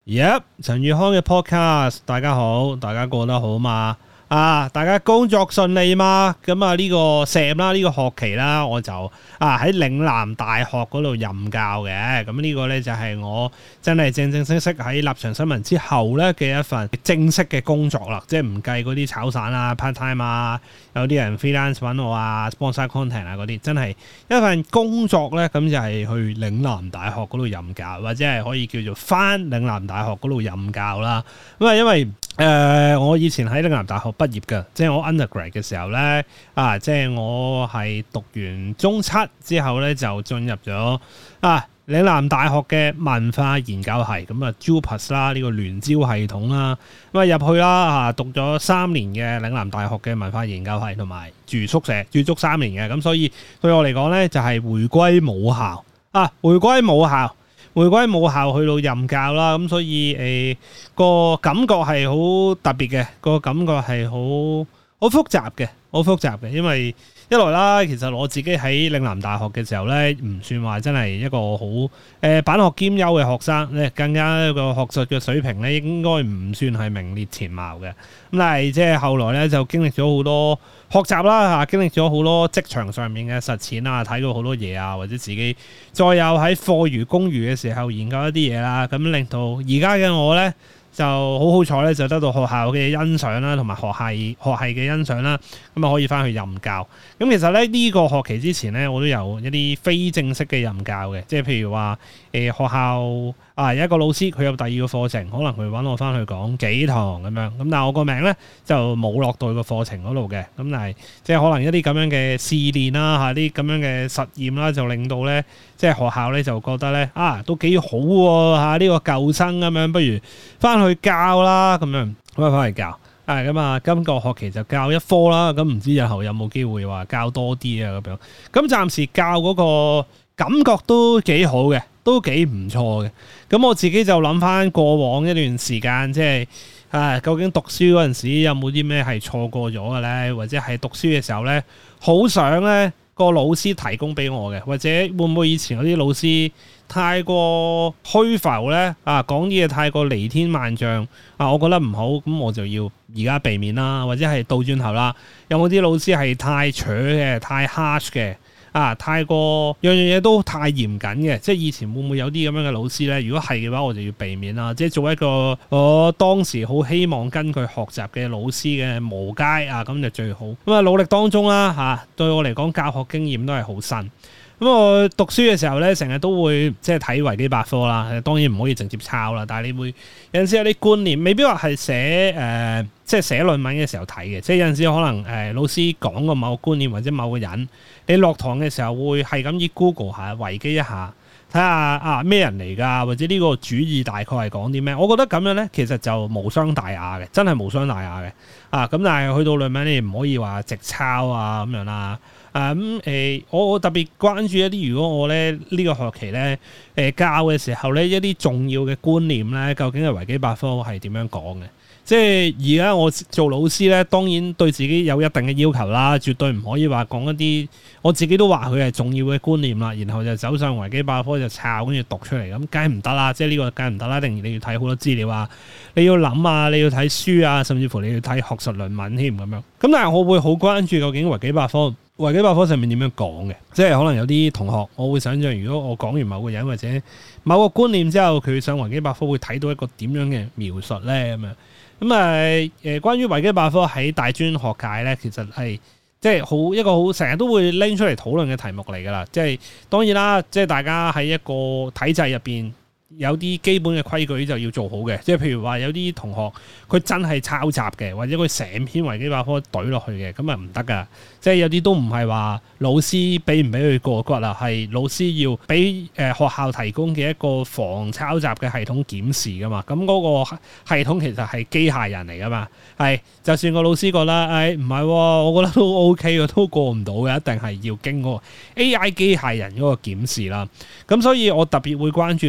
陳宇康嘅 podcast， 大家好，大家過得好嘛？大家工作順利嘛？咁呢個 Sam 啦，呢個學期啦，我就喺嶺南大學嗰度任教嘅。咁呢個呢，就係我真係正正式式喺立場新聞之後呢嘅一份正式嘅工作啦。即係唔計嗰啲炒散啊、part time 啊，有啲人 freelance 揾我啊、sponsor content 啊嗰啲，真係一份工作呢。咁就係去嶺南大學嗰度任教，或者係可以叫做返嶺南大學嗰度任教啦。咁因為我以前喺嶺南大學畢業嘅，即係我 undergrad 嘅時候咧，即係我係讀完中七之後咧，就進入咗嶺南大學嘅文化研究系，咁JUPAS 啦，呢個聯招系統啦，咁入去啦，讀咗3年嘅嶺南大學嘅文化研究系，同埋住宿舍住足3年嘅，咁所以對我嚟講咧，就係回歸母校回歸母校去到任教啦，咁所以個感覺係好特別嘅，個感覺係好複雜嘅，因為一來啦，其實我自己喺嶺南大學嘅時候咧，唔算話真係一個好板學兼優嘅學生咧，更加個學術嘅水平咧，應該唔算係名列前茅嘅。咁但係即係後來咧，就經歷咗好多學習啦，經歷咗好多職場上面嘅實踐啊，睇到好多嘢啊，或者自己再有喺課餘公餘嘅時候研究一啲嘢啦，咁令到而家嘅我咧，就好彩咧，就得到學校嘅欣賞啦，同埋學系嘅欣賞啦，咁可以翻去任教。咁其實咧呢個學期之前咧，我都有一啲非正式嘅任教嘅，即係譬如話學校有一個老師佢有第二個課程，可能佢揾我翻去講幾堂咁樣，咁但係我個名咧就冇落到個課程嗰度嘅，咁但係即係可能一啲咁樣嘅試練啦，啲咁樣嘅實驗啦，就令到咧即係學校咧就覺得咧都幾好喎，呢個舊生咁樣，不如翻去教啦咁樣，咁翻去教。今個學期就教一科啦，咁唔知日後有冇機會話教多啲啊咁樣。咁暫時教嗰個感覺都幾好嘅，都幾唔錯嘅。咁我自己就諗翻過往一段時間，即係究竟讀書嗰陣時有冇啲咩係錯過咗嘅咧？或者係讀書嘅時候咧，好想咧個老師提供俾我嘅，或者會唔會以前嗰啲老師太過虛浮咧？講啲嘢太過離天萬丈我覺得唔好，咁我就要而家避免啦，或者係倒轉頭啦。有冇啲老師係太扯嘅、太 harsh 嘅太過樣樣嘢都太嚴謹嘅？即係以前會唔會有啲咁樣嘅老師咧？如果係嘅話，我就要避免啦。即係做一個我當時好希望跟佢學習嘅老師嘅模階咁就最好。咁努力當中啦對我嚟講，教學經驗都係好新。咁我讀書嘅時候咧，成日都會即係睇維基百科啦，當然唔可以直接抄啦，但係你會有陣時有啲觀念，未必話係寫即係寫論文嘅時候睇嘅，即係有陣時可能老師講過某個觀念或者某個人，你落堂嘅時候會係咁以 Google 下維基一下，睇下咩人嚟㗎，或者呢個主義大概係講啲咩？我覺得咁樣咧，其實就無傷大雅嘅，真係無傷大雅嘅咁但係去到論文你唔可以話直抄咁樣啦。我特別關注一啲，如果我咧呢個學期咧教嘅時候咧，一啲重要嘅觀念咧，究竟係維基百科係點樣講嘅？即係而家我做老師咧，當然對自己有一定嘅要求啦，絕對唔可以話講一啲我自己都話佢係重要嘅觀念啦，然後就走上維基百科就抄跟住讀出嚟，咁梗係唔得啦！即係呢個梗係唔得啦，一定你要睇好多資料啊，你要諗你要睇書啊，甚至乎你要睇學術論文添咁樣。咁但係我會好關注究竟維基百科上面點樣講嘅？即係可能有啲同學，我會想象如果我講完某個人或者某個觀念之後，佢上維基百科會睇到一個點樣嘅描述咧咁樣。關於維基百科喺大專學界咧，其實係即係一個好成日都會拎出嚟討論嘅題目嚟㗎啦。即係當然啦，即係大家喺一個體制入邊有啲基本嘅規矩就要做好嘅。即係譬如話有啲同學佢真係抄襲嘅，或者佢成篇維基百科懟落去嘅，咁唔得㗎。即係有啲都唔係話老師俾唔俾佢過骨啦，係老師要俾學校提供嘅一個防抄襲嘅系統檢視噶嘛。咁嗰個系統其實係機械人嚟噶嘛。係就算個老師覺得唔係，我覺得都 OK 嘅，都過唔到嘅，一定係要經過 AI 機械人嗰個檢視啦。咁所以我特別會關注究竟維基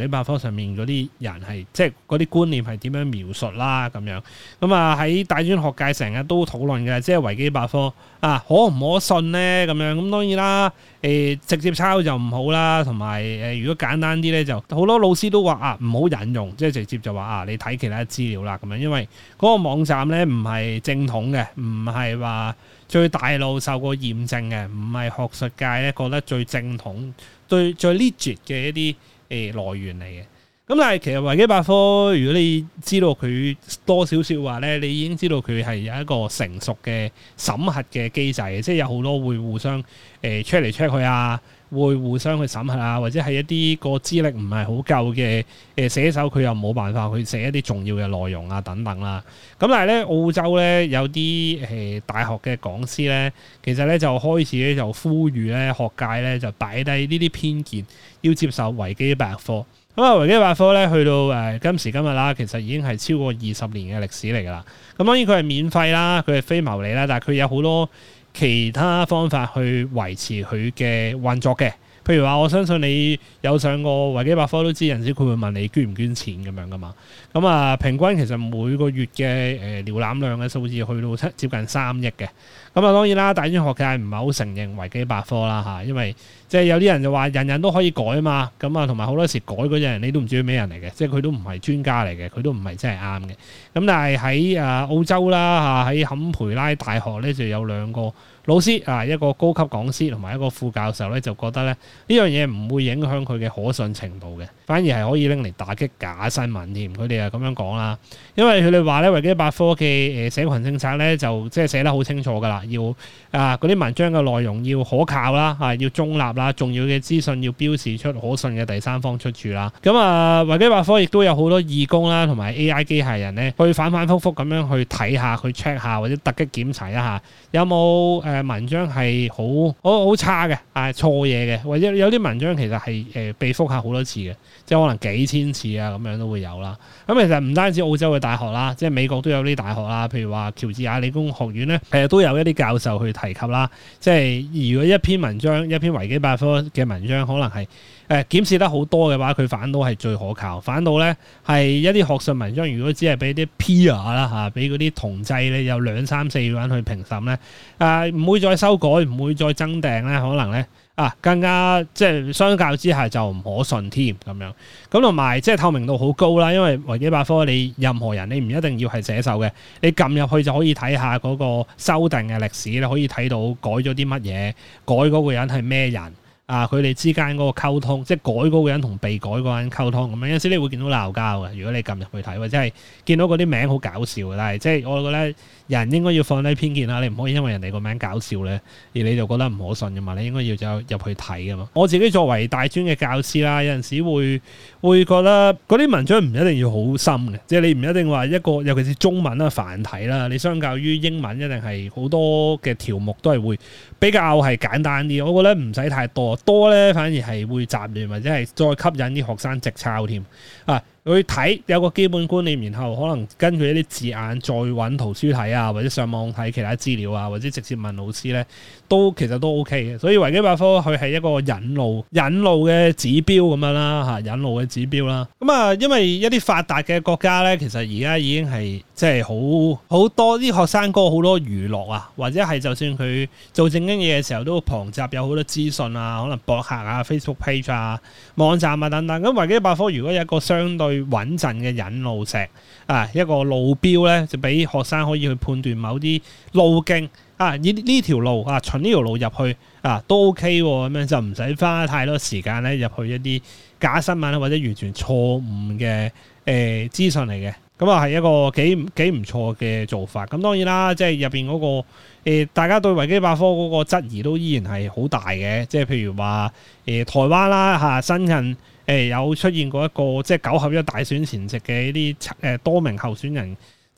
百科上面嗰啲人係即係嗰啲觀念係點樣描述啦咁樣。咁啊喺大專學界成日都討論嘅，即係維基百科啊可唔可信咧咁樣。咁當然啦，直接抄就唔好啦，同埋如果簡單啲咧，就好多老師都話啊唔好引用，即係直接就話啊你睇其他資料啦咁樣，因為嗰個網站咧唔係正統嘅，唔係話最大路受過驗證嘅，唔係學術界咧覺得最正統、最 legit 嘅一啲來源嚟嘅。咁但係其實維基百科，如果你知道佢多少少話咧，你已經知道佢係有一個成熟嘅審核嘅機制嘅，即係有好多會互相check嚟 check 去啊，會互相去審核啊，或者係一啲個資歷唔係好夠嘅寫手，佢又冇辦法去寫一啲重要嘅內容啊等等啦。咁但係咧澳洲咧有啲大學嘅講師咧，其實咧就開始咧就呼籲咧學界咧就擺低呢啲偏見，要接受維基百科。咁啊，維基百科咧去到今時今日啦，其實已經係超過20年嘅歷史嚟㗎啦。咁當然佢係免費啦，佢係非牟利啦，但係佢有好多其他方法去維持佢嘅運作嘅。譬如話，我相信你有上過維基百科都知，有陣時佢會問你捐唔捐錢咁樣噶嘛。咁啊，平均其實每個月嘅瀏覽量嘅數字去到接近3億嘅。咁啊，當然啦，大專學界唔係好承認維基百科啦嚇，因為即係有啲人就話人人都可以改啊嘛。咁啊，同埋好多時改嗰啲人你都唔知佢咩人嚟嘅，即係佢都唔係專家嚟嘅，佢都唔係真係啱嘅。咁但係喺澳洲啦嚇，喺坎培拉大學咧就有2個老師啊，一個高級講師同埋一個副教授咧，就覺得咧呢樣嘢唔會影響佢嘅可信程度嘅，反而係可以拎嚟打擊假新聞添。佢哋係咁樣講啦，因為佢哋話咧維基百科嘅社群政策咧就即係寫得好清楚噶啦，要嗰啲文章嘅內容要可靠啦，要中立啦，重要嘅資訊要標示出可信嘅第三方出處啦。咁啊，維基百科亦都有好多義工啦，同埋 AI 機械人咧，去反反覆覆咁樣去睇下，去 check 下或者突擊檢查一下有冇文章係好差嘅，錯嘢嘅，或者有啲文章其實係被覆下好多次嘅，即係可能幾千次啊咁樣都會有啦。咁其實唔單止澳洲嘅大學啦，即係美國都有啲大學啦，譬如話喬治亞理工學院咧，都有一啲教授去提及啦。即係如果一篇文章、一篇維基百科嘅文章可能係檢視得好多嘅話，佢反倒係最可靠。反倒咧係一啲學術文章，如果只係俾啲 peer 啦嚇，俾嗰啲同濟咧有2、3、4個人去評審咧，唔會再修改，唔會再增訂咧，可能咧更加即係相較之下就唔可信添咁樣。咁同埋即係透明度好高啦，因為維基百科你任何人你唔一定要係寫手嘅，你撳入去就可以睇下嗰個修訂嘅歷史，你可以睇到改咗啲乜嘢，改嗰個人係咩人。佢哋之間嗰個溝通，即係改嗰個人同被改嗰個人溝通咁樣，有陣時你會見到鬧交嘅。如果你撳入去睇，或者係見到嗰啲名好搞笑嘅，但係即係我覺得人應該要放低偏見啦。你唔可以因為人哋個名搞笑咧，而你就覺得唔可信嘅嘛。你應該要走入去睇嘅嘛。我自己作為大專嘅教師啦，有陣時會覺得嗰啲文章唔一定要好深嘅，即係你唔一定話一個，尤其是中文啦、繁體啦，你相較於英文一定係好多嘅條目都係會比較係簡單啲。我覺得唔使太多咧，反而係會雜亂，或者係再吸引啲學生直抄添去睇有個基本觀念，然後可能根據一啲字眼再揾圖書睇啊，或者上網睇其他資料啊，或者直接問老師咧，其實都 OK 嘅。所以維基百科佢係一個引路嘅指標咁樣啦，引路嘅指標啦。咁啊，因為一啲發達嘅國家咧，其實而家已經係即係好多啲學生哥好多娛樂啊，或者係就算佢做正經嘢嘅時候，都旁雜有好多資訊啊，可能博客啊、Facebook page 啊、網站啊等等。咁維基百科如果有一個相對穩陣嘅引路石一個路標咧，就俾學生可以去判斷某啲路徑呢條路循呢條路入去都 OK 咁樣，就唔使花太多時間咧入去一啲假新聞或者完全錯誤嘅資訊嚟嘅。咁係一個幾唔錯嘅做法。咁當然啦，即係入邊嗰個大家對維基百科嗰個質疑都依然係好大嘅。即係譬如話台灣啦新近有出現過一個即係9合1大選前夕嘅一啲多名候選人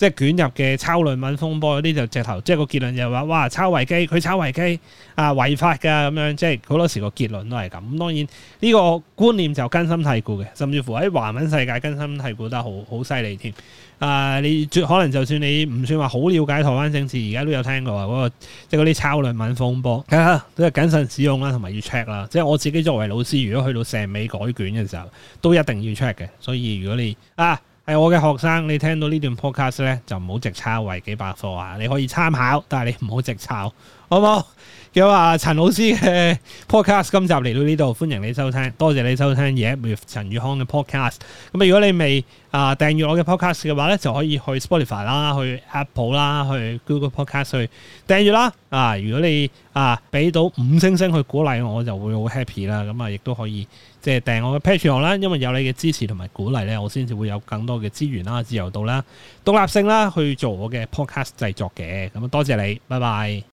即係捲入嘅抄論文風波嗰啲就直頭，即係個結論就話哇抄維基，佢抄維基啊違法㗎咁樣，即係好多時個結論都係咁。咁當然呢個觀念就根深蒂固嘅，甚至乎喺華文世界根深蒂固得好犀利添。你可能就算你唔算話好了解台灣政治，而家都有聽過嗰個即係嗰啲抄論文風波，都係謹慎使用啦，同埋要 check 啦。即係我自己作為老師，如果去到成尾改卷嘅時候，都一定要 check 嘅。所以如果你係我嘅學生，你聽到呢段 podcast 咧，就唔好直抄維基百科啊！你可以參考，但係你唔好直抄，好唔好？咁啊，陳老師嘅 podcast 今集嚟到呢度，歡迎你收聽，多謝你收聽嘢 with 陳宇康嘅 podcast。咁如果你未訂閱我嘅 podcast 嘅話咧，就可以去 Spotify 啦，去 Apple 啦，去 Google Podcast 去訂閱啦。如果你俾到5星星去鼓勵我，就會好 happy 啦。咁亦都可以即係訂我嘅 Patreon 啦，因為有你嘅支持同埋鼓勵咧，我先至會有更多嘅資源啦、自由度啦、獨立性啦，去做我嘅 podcast 製作嘅。咁多謝你，拜拜。